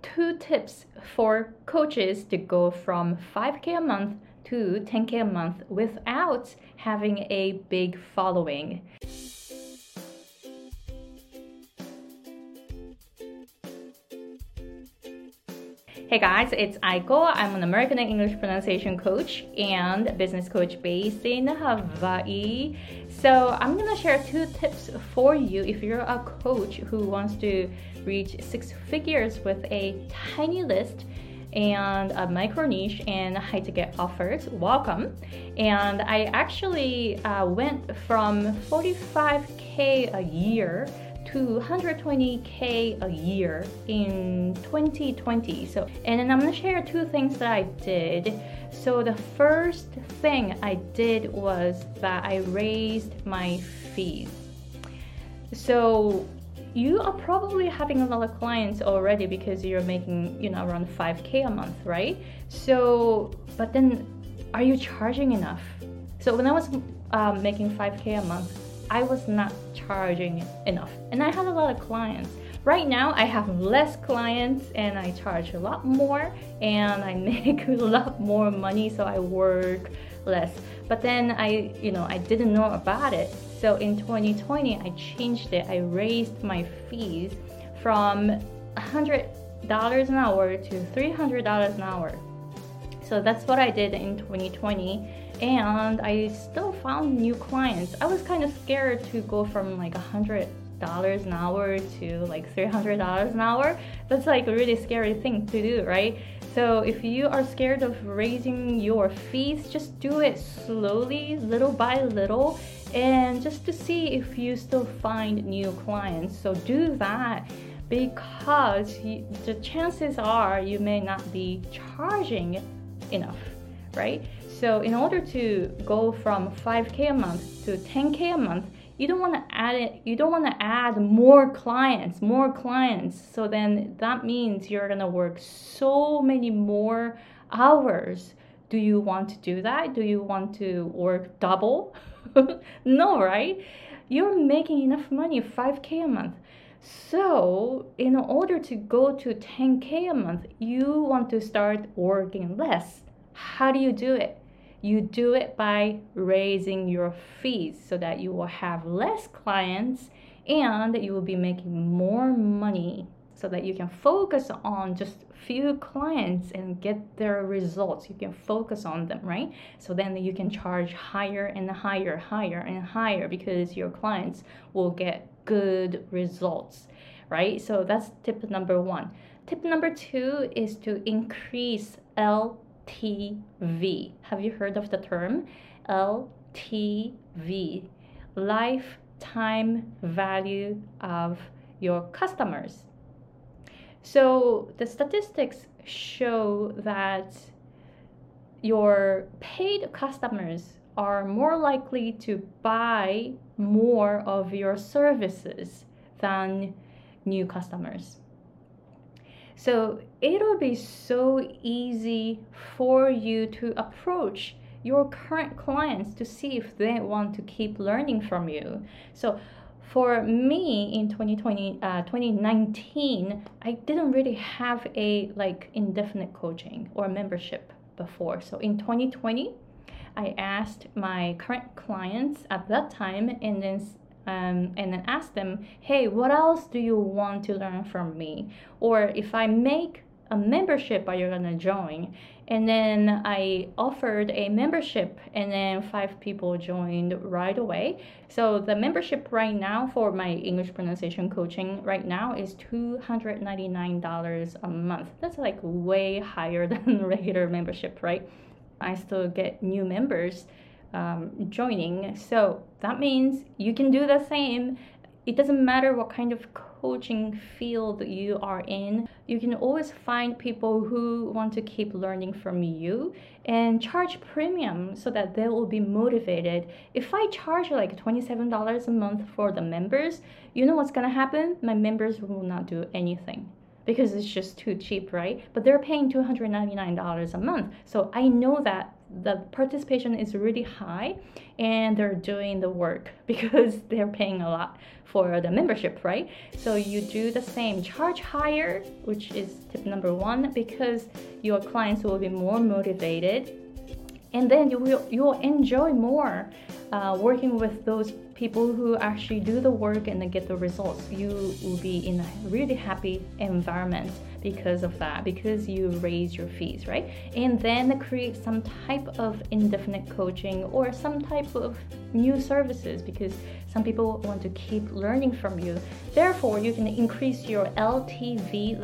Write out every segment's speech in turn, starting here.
2 tips for coaches to go from 5K a month to 10K a month without having a big following. Hey guys, it's Aiko. I'm an American English pronunciation coach and business coach based in Hawaii. So I'm gonna share 2 tips for you if you're a coach who wants to reach 6 figures with a tiny list and a micro niche and high ticket offers. Welcome. And I actually went from 45K a year to 120K a year in 2020. And then I'm gonna share 2 things that I did. So the first thing I did was that I raised my fees. So you are probably having a lot of clients already because you're making, around 5K a month, right? So, but then are you charging enough? So when I was making 5K a month, I was not charging enough, and I had a lot of clients. Right now I have less clients and I charge a lot more and I make a lot more money, so I work less. But then I didn't know about it. So in 2020 I changed it. I raised my fees from $100 an hour to $300 an hour. So that's what I did in 2020. And I still found new clients. I was kind of scared to go from like $100 an hour to like $300 an hour. That's like a really scary thing to do, right? So if you are scared of raising your fees, just do it slowly, little by little, and just to see if you still find new clients. So do that, because the chances are you may not be charging enough, right? So in order to go from 5K a month to 10K a month, you don't want to add more clients. So then that means you're going to work so many more hours. Do you want to do that? Do you want to work double? No, right? You're making enough money, 5K a month. So in order to go to 10K a month, you want to start working less. How do you do it? You do it by raising your fees so that you will have less clients and you will be making more money, so that you can focus on just few clients and get their results. You can focus on them, right? So then you can charge higher and higher, because your clients will get good results, right? So that's tip number 1. Tip number 2 is to increase LTV. Have you heard of the term LTV? Lifetime value of your customers. So the statistics show that your paid customers are more likely to buy more of your services than new customers. So it'll be so easy for you to approach your current clients to see if they want to keep learning from you. So for me in 2019, I didn't really have a indefinite coaching or membership before. So in 2020, I asked my current clients at that time and then ask them, hey, what else do you want to learn from me? Or if I make a membership, are you gonna join? And then I offered a membership, and then 5 people joined right away. So the membership right now for my English pronunciation coaching right now is $299 a month. That's like way higher than regular membership, right? I still get new members joining. So that means you can do the same. It doesn't matter what kind of coaching field you are in. You can always find people who want to keep learning from you and charge premium so that they will be motivated. If I charge like $27 a month for the members, you know what's gonna happen? My members will not do anything, because it's just too cheap, right? But they're paying $299 a month. So I know that the participation is really high and they're doing the work because they're paying a lot for the membership, right? So you do the same, charge higher, which is tip number one, because your clients will be more motivated, and then you will enjoy more working with those people who actually do the work and then get the results. You will be in a really happy environment because of that, because you raise your fees, right? And then create some type of indefinite coaching or some type of new services, because some people want to keep learning from you. Therefore, you can increase your LTV,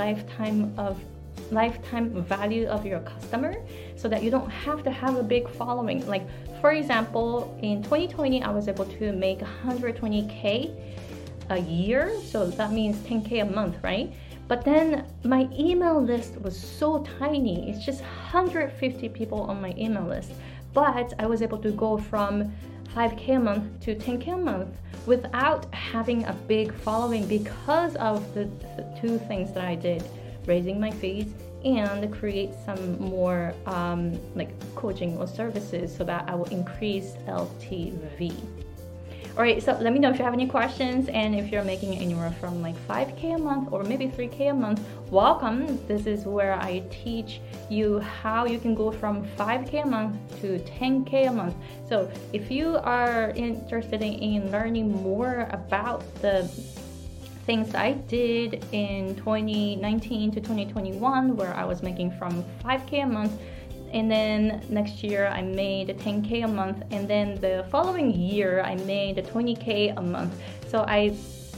lifetime value of your customer, so that you don't have to have a big following. Like, for example, in 2020 I was able to make 120k a year, so that means 10k a month, right? But then my email list was so tiny. It's just 150 people on my email list, but I was able to go from 5k a month to 10k a month without having a big following, because of the two things that I did: raising my fees and create some more like coaching or services, so that I will increase LTV. All right, so let me know if you have any questions, and if you're making anywhere from like 5k a month or maybe 3k a month, welcome. This is where I teach you how you can go from 5k a month to 10k a month. So if you are interested in learning more about the things I did in 2019 to 2021, where I was making from 5k a month, and then next year I made 10k a month, and then the following year I made 20k a month. So I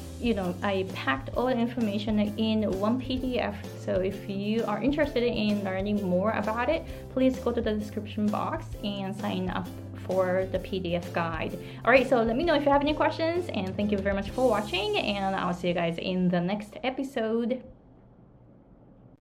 packed all the information in one PDF. So if you are interested in learning more about it, please go to the description box and sign up for the PDF guide. All right, so let me know if you have any questions, and thank you very much for watching, and I'll see you guys in the next episode.